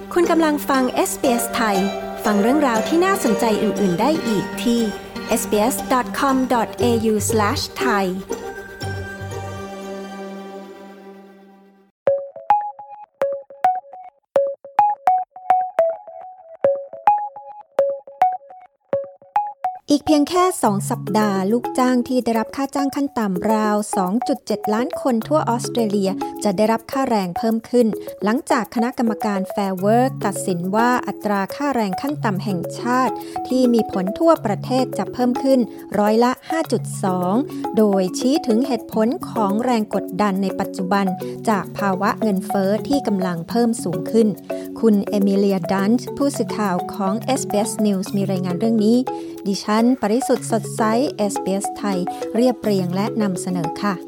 คุณกำลังฟัง SBS ไทยฟังเรื่องราวที่น่าสนใจอื่นๆได้อีกที่ sbs.com.au/thaiอีกเพียงแค่2 สัปดาห์ลูกจ้างที่ได้รับค่าจ้างขั้นต่ำราว 2.7 ล้านคนทั่วออสเตรเลียจะได้รับค่าแรงเพิ่มขึ้นหลังจากคณะกรรมการ Fair Work ตัดสินว่าอัตราค่าแรงขั้นต่ำแห่งชาติที่มีผลทั่วประเทศจะเพิ่มขึ้นร้อยละ 5.2 โดยชี้ถึงเหตุผลของแรงกดดันในปัจจุบันจากภาวะเงินเฟ้อที่กำลังเพิ่มสูงขึ้นคุณเอมิเลีย ดันช์ผู้สื่อข่าวของ SBS News มีรายงานเรื่องนี้ดิฉันปริสุทธิ์สดใส SBS ไทยเรียบเรียงและนำเสนอค่ะ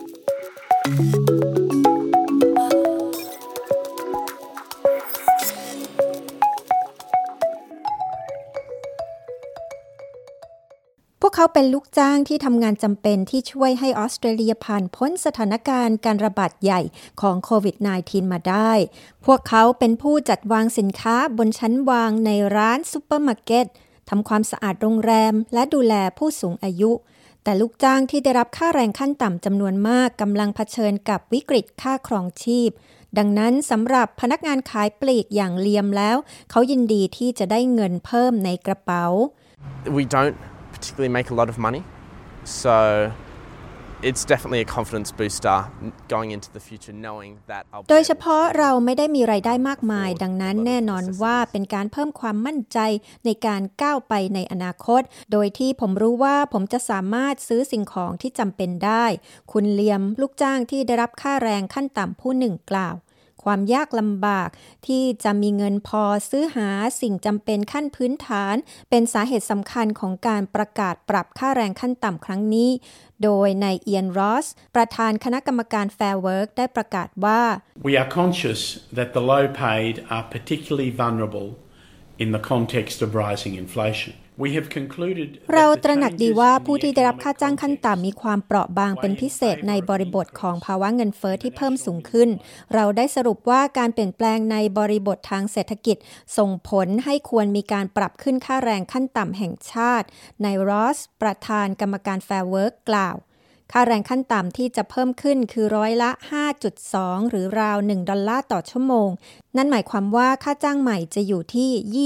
พวกเขาเป็นลูกจ้างที่ทำงานจำเป็นที่ช่วยให้ออสเตรเลียผ่านพ้นสถานการณ์การระบาดใหญ่ของโควิด -19 มาได้พวกเขาเป็นผู้จัดวางสินค้าบนชั้นวางในร้านซุปเปอร์มาร์เก็ตทำความสะอาดโรงแรมและดูแลผู้สูงอายุแต่ลูกจ้างที่ได้รับค่าแรงขั้นต่ำจำนวนมากกำลังเผชิญกับวิกฤตค่าครองชีพดังนั้นสำหรับพนักงานขายปลีกอย่างเลียมแล้วเขายินดีที่จะได้เงินเพิ่มในกระเป๋า We don't particularly make a lot of money, so it's definitely a confidence booster going into the future knowing that I'll be โดยเฉพาะเราไม่ได้มีรายได้มากมายดังนั้นแน่นอนว่าเป็นการเพิ่มความมั่นใจในการก้าวไปในอนาคตโดยที่ผมรู้ว่าผมจะสามารถซื้อสิ่งของที่จำเป็นได้คุณเลียมลูกจ้างที่ได้รับค่าแรงขั้นต่ำผู้หนึ่งกล่าวความยากลำบากที่จะมีเงินพอซื้อหาสิ่งจำเป็นขั้นพื้นฐานเป็นสาเหตุสำคัญของการประกาศปรับค่าแรงขั้นต่ำครั้งนี้โดยนายเอียนรอสประธานคณะกรรมการ Fair Work ได้ประกาศว่า We are conscious that the low paid are particularly vulnerable in the context of rising inflationเราตระหนักดีว่าผู้ที่ได้รับค่าจ้างขั้นต่ำมีความเปราะบางเป็นพิเศษในบริบทของภาวะเงินเฟ้อที่เพิ่มสูงขึ้นเราได้สรุปว่าการเปลี่ยนแปลงในบริบททางเศรษฐกิจส่งผลให้ควรมีการปรับขึ้นค่าแรงขั้นต่ำแห่งชาตินายรอสประธานกรรมการ Fair Work กล่าวค่าแรงขั้นต่ำที่จะเพิ่มขึ้นคือร้อยละ 5.2 หรือราว$1ต่อชั่วโมงนั่นหมายความว่าค่าจ้างใหม่จะอยู่ที่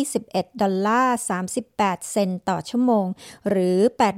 $21.38 ต่อชั่วโมงหรือ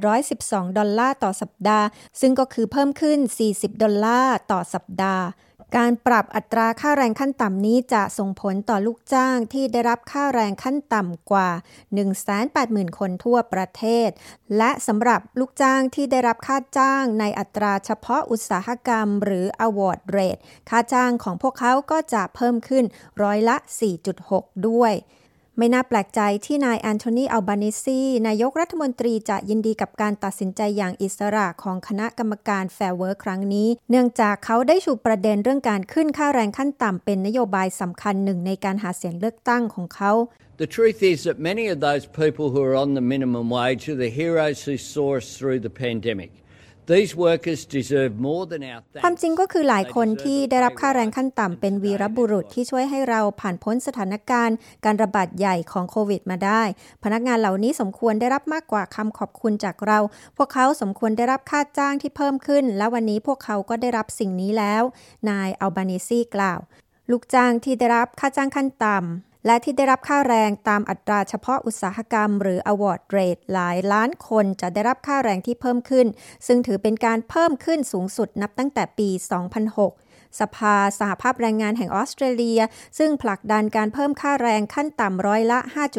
$812ต่อสัปดาห์ซึ่งก็คือเพิ่มขึ้น$40ต่อสัปดาห์การปรับอัตราค่าแรงขั้นต่ำนี้จะส่งผลต่อลูกจ้างที่ได้รับค่าแรงขั้นต่ำกว่า 180,000 คนทั่วประเทศและสำหรับลูกจ้างที่ได้รับค่าจ้างในอัตราเฉพาะอุตสาหกรรมหรือ Award Rate ค่าจ้างของพวกเขาก็จะเพิ่มขึ้นร้อยละ 4.6 ด้วยไม่น่าแปลกใจที่นายแอนโทนี อัลบานิซีนายกรัฐมนตรีจะยินดีกับการตัดสินใจอย่างอิสระของคณะกรรมการ Fair Work ครั้งนี้เนื่องจากเขาได้ชูประเด็นเรื่องการขึ้นค่าแรงขั้นต่ำเป็นนโยบายสำคัญหนึ่งในการหาเสียงเลือกตั้งของเขา The truth is that many of those people who are on the minimum wage are the heroes who saw us through the pandemic.These workers deserve more than our thanks. ความจริงก็คือหลายคนที่ได้รับค่าแรงขั้นต่ำเป็นวีรบุรุษที่ช่วยให้เราผ่านพ้นสถานการณ์การระบาดใหญ่ของโควิดมาได้พนักงานเหล่านี้สมควรได้รับมากกว่าคำขอบคุณจากเราพวกเขาสมควรได้รับค่าจ้างที่เพิ่มขึ้นและวันนี้พวกเขาก็ได้รับสิ่งนี้แล้วนายอัลบานิซีกล่าวลูกจ้างที่ได้รับค่าจ้างขั้นต่ำและที่ได้รับค่าแรงตามอัตราเฉพาะอุตสาหกรรมหรือ Award Rate หลายล้านคนจะได้รับค่าแรงที่เพิ่มขึ้นซึ่งถือเป็นการเพิ่มขึ้นสูงสุดนับตั้งแต่ปี 2006 สภาสหภาพแรงงานแห่งออสเตรเลียซึ่งผลักดันการเพิ่มค่าแรงขั้นต่ำร้อยละ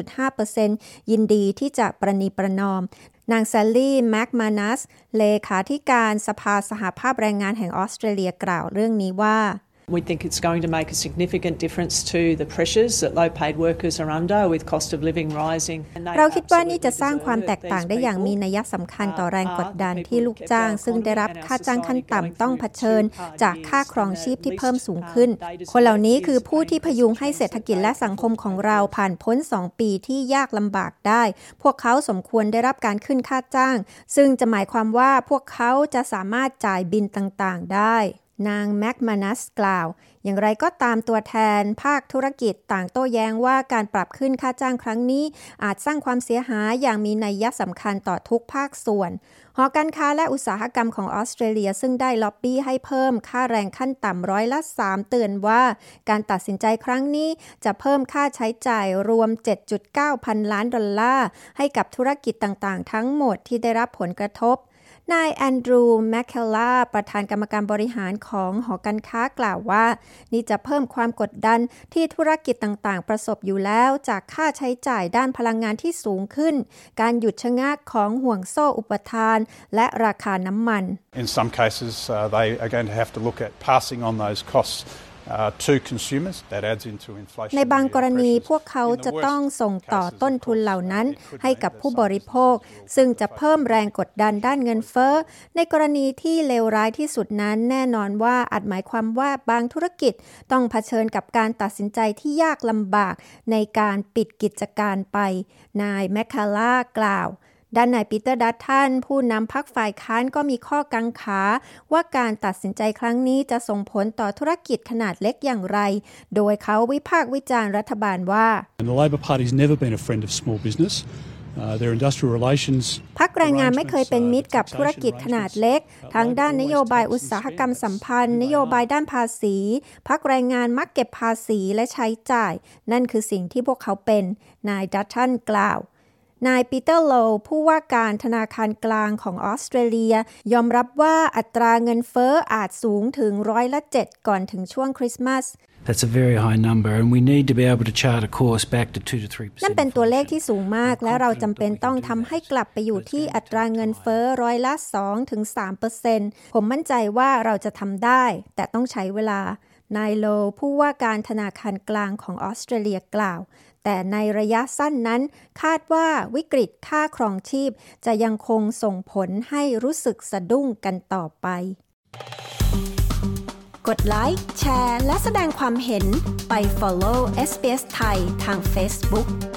5.5% ยินดีที่จะประนีประนอมนางแซลลี่ แม็กมานัสเลขาธิการสภาสหภาพแรงงานแห่งออสเตรเลียกล่าวเรื่องนี้ว่า We think it's going to make a significant difference to the pressures that low-paid workers are under with cost of living rising. เราคิดว่านี่จะสร้างความแตกต่างได้อย่างมีนัยสำคัญต่อแรงกดดันที่ลูกจ้างซึ่งได้รับค่าจ้างขั้นต่ำต้องเผชิญจากค่าครองชีพที่เพิ่มสูงขึ้นคนเหล่านี้คือผู้ที่พยุงให้เศรษฐกิจและสังคมของเราผ่านพ้น2 ปีที่ยากลำบากได้พวกเขาสมควรได้รับการขึ้นค่าจ้างซึ่งจะหมายความว่าพวกเขาจะสามารถจ่ายบิลต่างๆได้นางแมคมานัสกล่าวอย่างไรก็ตามตัวแทนภาคธุรกิจต่างโต้แย้งว่าการปรับขึ้นค่าจ้างครั้งนี้อาจสร้างความเสียหายอย่างมีนัยสำคัญต่อทุกภาคส่วนหอการค้าและอุตสาหกรรมของออสเตรเลียซึ่งได้ล็อบบี้ให้เพิ่มค่าแรงขั้นต่ำ3%เตือนว่าการตัดสินใจครั้งนี้จะเพิ่มค่าใช้จ่ายรวม 7.9 พันล้านดอลลาร์ให้กับธุรกิจต่างๆทั้งหมดที่ได้รับผลกระทบนายแอนดรูว์แมคเคลล่าประธานกรรมการบริหารของหอการค้ากล่าวว่านี่จะเพิ่มความกดดันที่ธุรกิจต่างๆประสบอยู่แล้วจากค่าใช้จ่ายด้านพลังงานที่สูงขึ้นการหยุดชะงักของห่วงโซ่อุปทานและราคาน้ำมัน In some cases, they are going to have to look at passing on those costs to consumers. That adds into inflation. ในบางกรณีพวกเขาจะต้องส่งต่อต้นทุนเหล่านั้นให้กับผู้บริโภคซึ่งจะเพิ่มแรงกดดันด้านเงินเฟ้อในกรณีที่เลวร้ายที่สุดนั้นแน่นอนว่าอาจหมายความว่าบางธุรกิจต้องเผชิญกับการตัดสินใจที่ยากลำบากในการปิดกิจการไปนายแมคคาล่ากล่าวด้านนายปีเตอร์ดัตตันผู้นำพรรคฝ่ายค้านก็มีข้อกังขาว่าการตัดสินใจครั้งนี้จะส่งผลต่อธุรกิจขนาดเล็กอย่างไรโดยเขาวิพากษ์วิจารณ์รัฐบาลว่า The Labor Party's never been a friend of small business. Their industrial relations พรรคแรงงานไม่เคยเป็นมิตรกับธุรกิจขนาดเล็กทั้งด้านนโยบายอุตสาหกรรมสัมพันธ์นโยบายด้านภาษีพรรคแรงงานมักเก็บภาษีและใช้จ่ายนั่นคือสิ่งที่พวกเขาเป็นนายดัตตันกล่าวนายปีเตอร์โลว์ผู้ว่าการธนาคารกลางของออสเตรเลียยอมรับว่าอัตราเงินเฟ้ออาจสูงถึง7%ก่อนถึงช่วงคริสต์มาส That's a very high number and we need to be able to chart a course back to 2 to 3%. นั่นเป็นตัวเลขที่สูงมากและเราจำเป็นต้องทำให้กลับไปอยู่ที่อัตราเงินเฟ้อ2 ถึง 3% ผมมั่นใจว่าเราจะทำได้แต่ต้องใช้เวลานายโลผู้ว่าการธนาคารกลางของออสเตรเลียกล่าวแต่ในระยะสั้นนั้นคาดว่าวิกฤตค่าครองชีพจะยังคงส่งผลให้รู้สึกสะดุ้งกันต่อไปกดไลค์แชร์และแสดงความเห็นไป follow SBS ไทยทาง Facebook